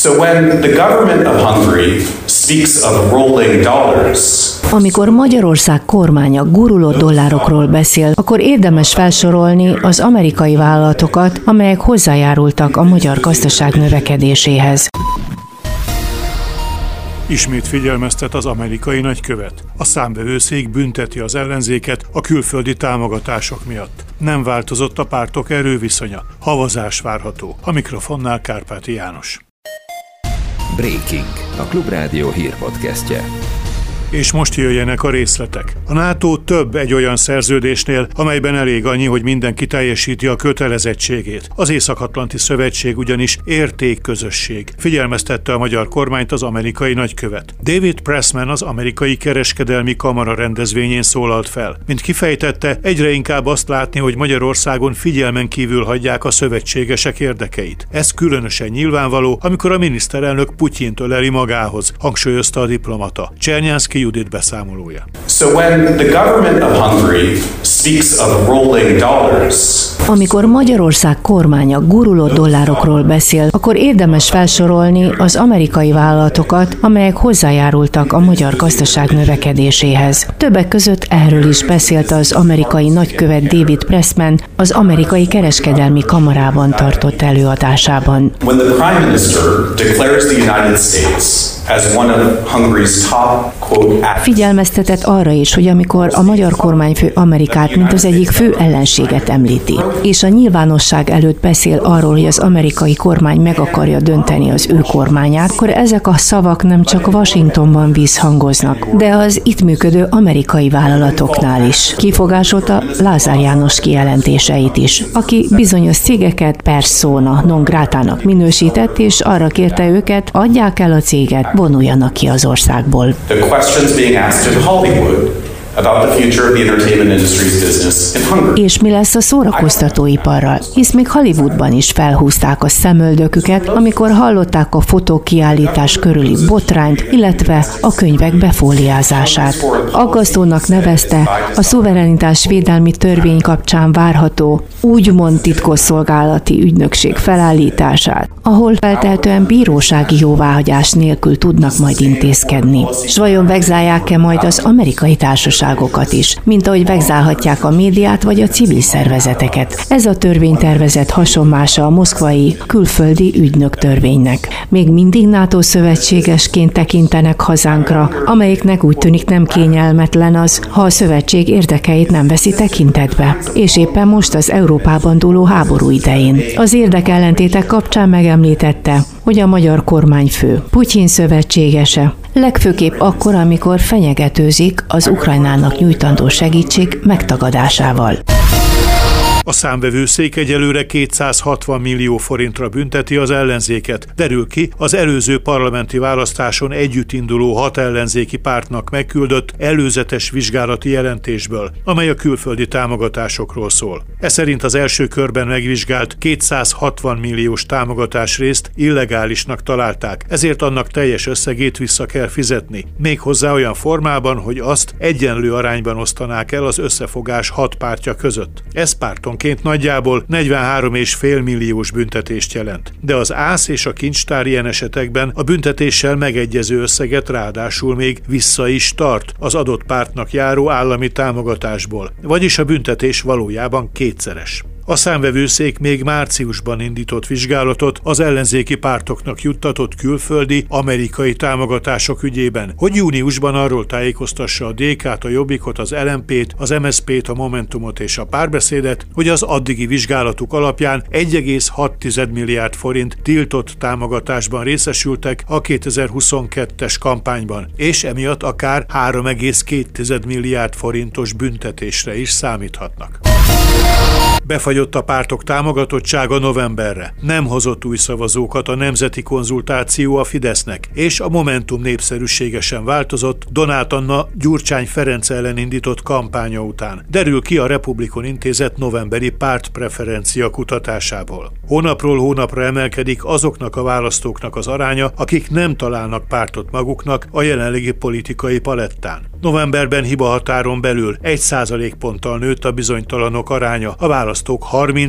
So when the government of Hungary speaks of rolling dollars, amikor Magyarország kormánya guruló dollárokról beszél, akkor érdemes felsorolni az amerikai vállalatokat, amelyek hozzájárultak a magyar gazdaság növekedéséhez. Ismét figyelmeztet az amerikai nagykövet. A számvevőszék bünteti az ellenzéket a külföldi támogatások miatt. Nem változott a pártok erőviszonya. Havazás várható. A mikrofonnál Kárpáti János. Breaking, a Klubrádió hírpodcastje. És most jöjjenek a részletek. A NATO több egy olyan szerződésnél, amelyben elég annyi, hogy mindenki teljesíti a kötelezettségét. Az Észak-Atlanti Szövetség ugyanis értékközösség. Figyelmeztette a magyar kormányt az amerikai nagykövet. David Pressman az amerikai kereskedelmi kamara rendezvényén szólalt fel. Mint kifejtette, egyre inkább azt látni, hogy Magyarországon figyelmen kívül hagyják a szövetségesek érdekeit. Ez különösen nyilvánvaló, amikor a miniszterelnök Putyint öleli magához, hangsúlyozta a diplomata. Csernyánszky Judit beszámolója. So when the government of Hungary speaks of rolling dollars, amikor Magyarország kormánya guruló dollárokról beszél, akkor érdemes felsorolni az amerikai vállalatokat, amelyek hozzájárultak a magyar gazdaság növekedéséhez. Többek között erről is beszélt az amerikai nagykövet David Pressman az amerikai kereskedelmi kamarában tartott előadásában. When the Prime Minister declares the United States as one of Hungary's top, quote, figyelmeztetett arra is, hogy amikor a magyar kormányfő Amerikát mint az egyik fő ellenséget említi, és a nyilvánosság előtt beszél arról, hogy az amerikai kormány meg akarja dönteni az ő kormányát, akkor ezek a szavak nem csak Washingtonban visszhangoznak, de az itt működő amerikai vállalatoknál is. Kifogásolta Lázár János kijelentéseit is, aki bizonyos cégeket persona non gratának minősített, és arra kérte őket, adják el a céget, vonuljanak ki az országból. The questions being asked in Hollywood about the future of the entertainment industry's business in Hungary. És mi lesz a szórakoztatóiparral? Hisz még Hollywoodban is felhúzták a szemöldöküket, amikor hallották a fotókiállítás körüli botrányt, illetve a könyvek befóliázását. Aggasztónak nevezte a szuverenitás védelmi törvény kapcsán várható úgymond titkosszolgálati ügynökség felállítását, ahol feltehetően bírósági jóváhagyás nélkül tudnak majd intézkedni. S vajon vegzálják-e majd az amerikai társaságokat is, mint ahogy vegzálhatják a médiát vagy a civil szervezeteket? Ez a törvénytervezet hasonmása a moszkvai külföldi ügynök törvénynek. Még mindig NATO szövetségesként tekintenek hazánkra, amelyiknek úgy tűnik nem kényelmetlen az, ha a szövetség érdekeit nem veszi tekintetbe. És éppen most az Európában dúló háború idején. Az érdekellentétek kapcsán megemlítette, hogy a magyar kormányfő Putyin szövetségese, legfőképp akkor, amikor fenyegetőzik az Ukrajnának nyújtandó segítség megtagadásával. A számvevőszék egyelőre 260 millió forintra bünteti az ellenzéket. Derül ki az előző parlamenti választáson együtt induló 6 ellenzéki pártnak megküldött előzetes vizsgálati jelentésből, amely a külföldi támogatásokról szól. Ez szerint az első körben megvizsgált 260 milliós támogatásrészt illegálisnak találták, ezért annak teljes összegét vissza kell fizetni. Méghozzá olyan formában, hogy azt egyenlő arányban osztanák el az összefogás 6 pártja között. Ez párton nagyjából 43,5 milliós büntetést jelent. De az ÁSZ és a kincstár ilyen esetekben a büntetéssel megegyező összeget ráadásul még vissza is tart az adott pártnak járó állami támogatásból. Vagyis a büntetés valójában kétszeres. A számvevőszék még márciusban indított vizsgálatot az ellenzéki pártoknak juttatott külföldi, amerikai támogatások ügyében, hogy júniusban arról tájékoztassa a DK-t, a Jobbikot, az LMP-t, az MSZP-t, a Momentumot és a Párbeszédet, hogy az addigi vizsgálatuk alapján 1,6 milliárd forint tiltott támogatásban részesültek a 2022-es kampányban, és emiatt akár 3,2 milliárd forintos büntetésre is számíthatnak. Befagyott a pártok támogatottsága novemberre. Nem hozott új szavazókat a nemzeti konzultáció a Fidesznek, és a Momentum népszerűsége sem változott Donát Anna Gyurcsány Ferenc ellen indított kampánya után. Derül ki a Republikon Intézet novemberi pártpreferencia kutatásából. Hónapról hónapra emelkedik azoknak a választóknak az aránya, akik nem találnak pártot maguknak a jelenlegi politikai palettán. Novemberben hibahatáron belül 1%-ponttal nőtt a bizonytalanok aránya, a választók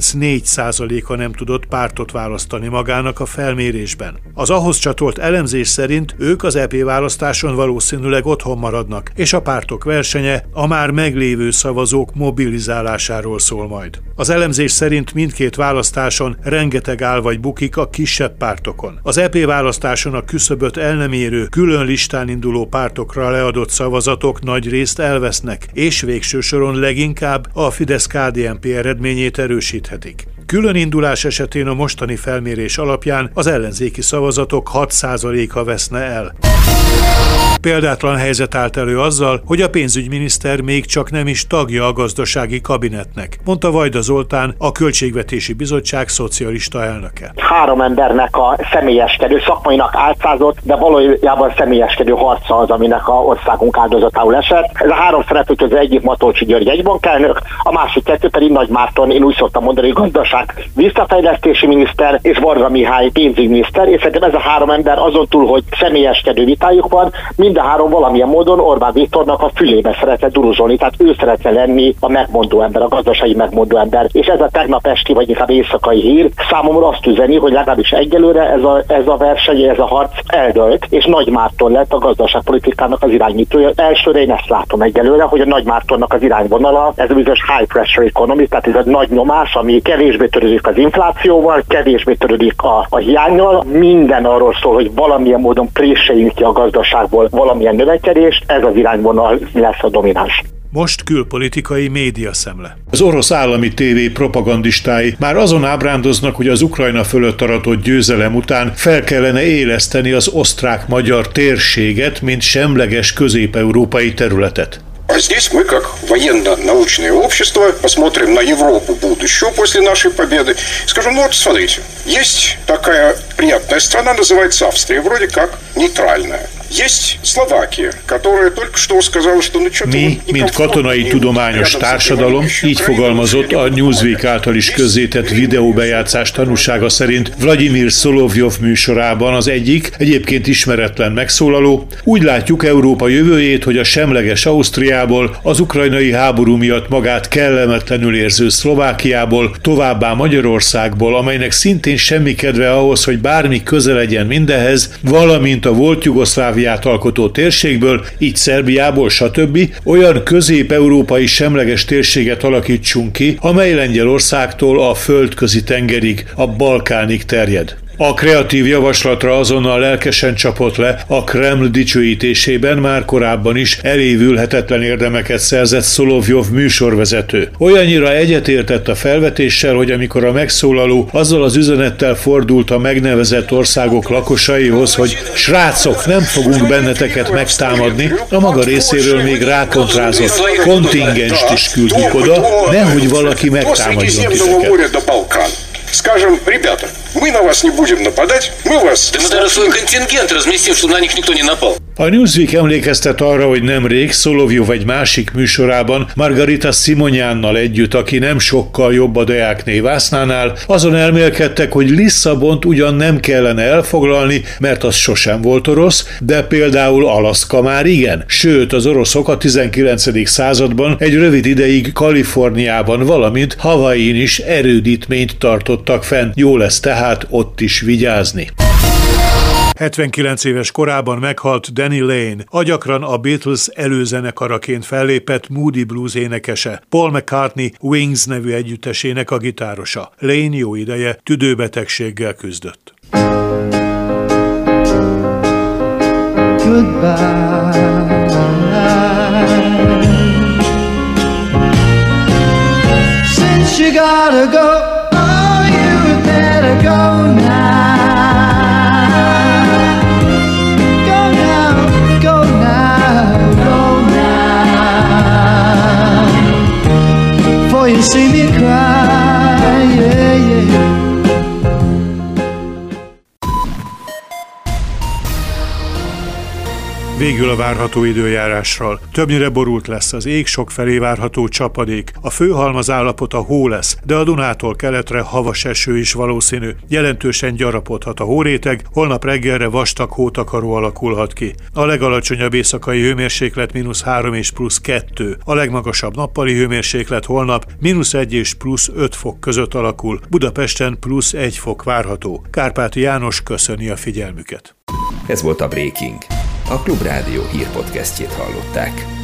34%-a nem tudott pártot választani magának a felmérésben. Az ahhoz csatolt elemzés szerint ők az EP választáson valószínűleg otthon maradnak, és a pártok versenye a már meglévő szavazók mobilizálásáról szól majd. Az elemzés szerint mindkét választáson rengeteg áll vagy bukik a kisebb pártokon. Az EP választáson a küszöböt el nem érő, külön listán induló pártokra leadott szavazatok nagy részt elvesznek, és végső soron leginkább a Fidesz-KDNP eredményét erősíthetik. Külön indulás esetén a mostani felmérés alapján az ellenzéki szavazatok 6%-a veszne el. Példátlan helyzet állt elő azzal, hogy a pénzügyminiszter még csak nem is tagja a gazdasági kabinetnek, mondta Vajda Zoltán, a Költségvetési Bizottság szocialista elnöke. 3 embernek a személyeskedő, szakmainak álcázott, de valójában személyeskedő harca az, aminek a országunk áldozatául esett. Ez a 3 szereplő közül egyik Matolcsy György egybankelnök, a másik 2 pedig Nagy Márton, én úgy szoktam mondani, gazdaság visszafejlesztési miniszter, és Varga Mihály pénzügyminiszter, és szerintem ez a 3 ember azon túl, hogy személyeskedő vitájuk van, mind a 3 valamilyen módon Orbán Viktornak a fülébe szeretne duruzsolni, tehát ő szeretne lenni a megmondó ember, a gazdasági megmondó ember. És ez a tegnap esti, vagy inkább éjszakai hír számomra azt üzeni, hogy legalábbis egyelőre ez a verseny, ez a harc eldőlt, és Nagy Márton lett a gazdaságpolitikának az irányítója. Elsőre én ezt látom egyelőre, hogy a Nagy Mártonnak az irányvonala, ez a bizonyos high pressure economy, tehát ez a nagy nyomás, ami kevésbé törődik az inflációval, kevésbé törődik a hiánnyal, minden arról szól, hogy valamilyen módon préseljünk ki a gazdaságból valamilyen növekedést, ez az irányvonal lesz a domináns. Most külpolitikai médiaszemle. Az orosz állami tévé propagandistái már azon ábrándoznak, hogy az Ukrajna fölött aratott győzelem után fel kellene éleszteni az osztrák-magyar térséget, mint semleges közép-európai területet. А здесь мы, как военно-научное общество, посмотрим на Европу будущего после нашей победы. Скажем, ну вот смотрите, есть такая приятная страна, называется Австрия, вроде как нейтральная. Есть Словакия, которая только что сказала, что ну что-то... Mi, mint katonai tudományos társadalom, így fogalmazott a Newsweek által is közzétett videóbejátszás tanúsága szerint Vladimir Szolovjov műsorában az egyik, egyébként ismeretlen megszólaló. Úgy látjuk Európa jövőjét, hogy a semleges Ausztriából, az ukrajnai háború miatt magát kellemetlenül érző Szlovákiából, továbbá Magyarországból, amelynek szintén semmi kedve ahhoz, hogy bármi köze legyen mindenhez, valamint a volt Jugoszlávia alkotó térségből, így Szerbiából, stb. Olyan közép-európai semleges térséget alakítsunk ki, amely Lengyelországtól a földközi tengerig, a Balkánig terjed. A kreatív javaslatra azonnal lelkesen csapott le a Kreml dicsőítésében már korábban is elévülhetetlen érdemeket szerzett Szolovjov műsorvezető. Olyannyira egyetértett a felvetéssel, hogy amikor a megszólaló azzal az üzenettel fordult a megnevezett országok lakosaihoz, hogy srácok, nem fogunk benneteket megtámadni, a maga részéről még rákontrázott kontingenst is küldjük oda, nehogy valaki megtámadjon titeket. Скажем, ребята, мы на вас не будем нападать, мы вас... Да мы даже свой контингент разместим, чтобы на них никто не напал. A Newsweek emlékeztet arra, hogy nemrég Szolovjov egy másik műsorában Margarita Simonyánnal együtt, aki nem sokkal jobb a Deák névásznánál, azon elmélkedtek, hogy Lisszabont ugyan nem kellene elfoglalni, mert az sosem volt orosz, de például Alaszka már igen. Sőt, az oroszok a 19. században egy rövid ideig Kaliforniában, valamint Hawaiin is erődítményt tartottak fenn. Jó lesz tehát ott is vigyázni. 79 éves korában meghalt Danny Lane, a gyakran a Beatles előzenekaraként fellépett Moody Blues énekese, Paul McCartney Wings nevű együttesének a gitárosa. Lane jó ideje tüdőbetegséggel küzdött. Since you gotta go, oh, you better go now. You see me cry, yeah, yeah. Végül a várható időjárásról. Többnyire borult lesz az ég, sokfelé várható csapadék. A főhalmaz állapota hó lesz, de a Dunától keletre havas eső is valószínű. Jelentősen gyarapodhat a hóréteg, holnap reggelre vastag hótakaró alakulhat ki. A legalacsonyabb éjszakai hőmérséklet -3 és +2. A legmagasabb nappali hőmérséklet holnap -1 és +5 fok között alakul. Budapesten +1 fok várható. Kárpáti János köszöni a figyelmüket. Ez volt a Breaking. A Klubrádió hírpodcastjét hallották.